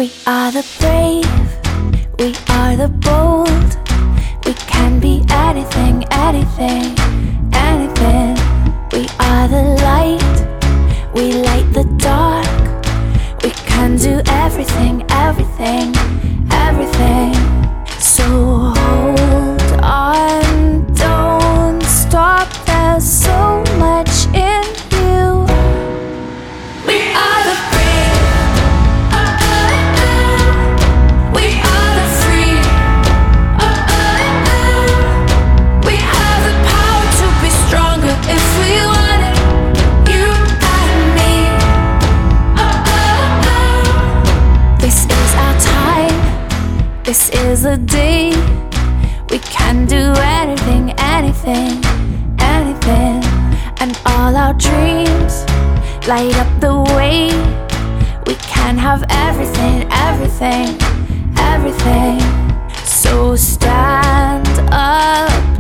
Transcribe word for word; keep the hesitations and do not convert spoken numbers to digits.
We are the brave, we are the bold. We can be anything, anything, anything. We are the light, we light the dark. We can do everything, everything, everything. So hold on, don't stop, there's so much in you. We are the brave, oh, oh, oh. We are the free, oh, oh, oh. We have the power to be stronger if we want it. You and me, oh, oh, oh. This is our time, this is the day. We can do anything, anything, anything. And all our dreams light up the way. We can have everything, everything, everything. So stand up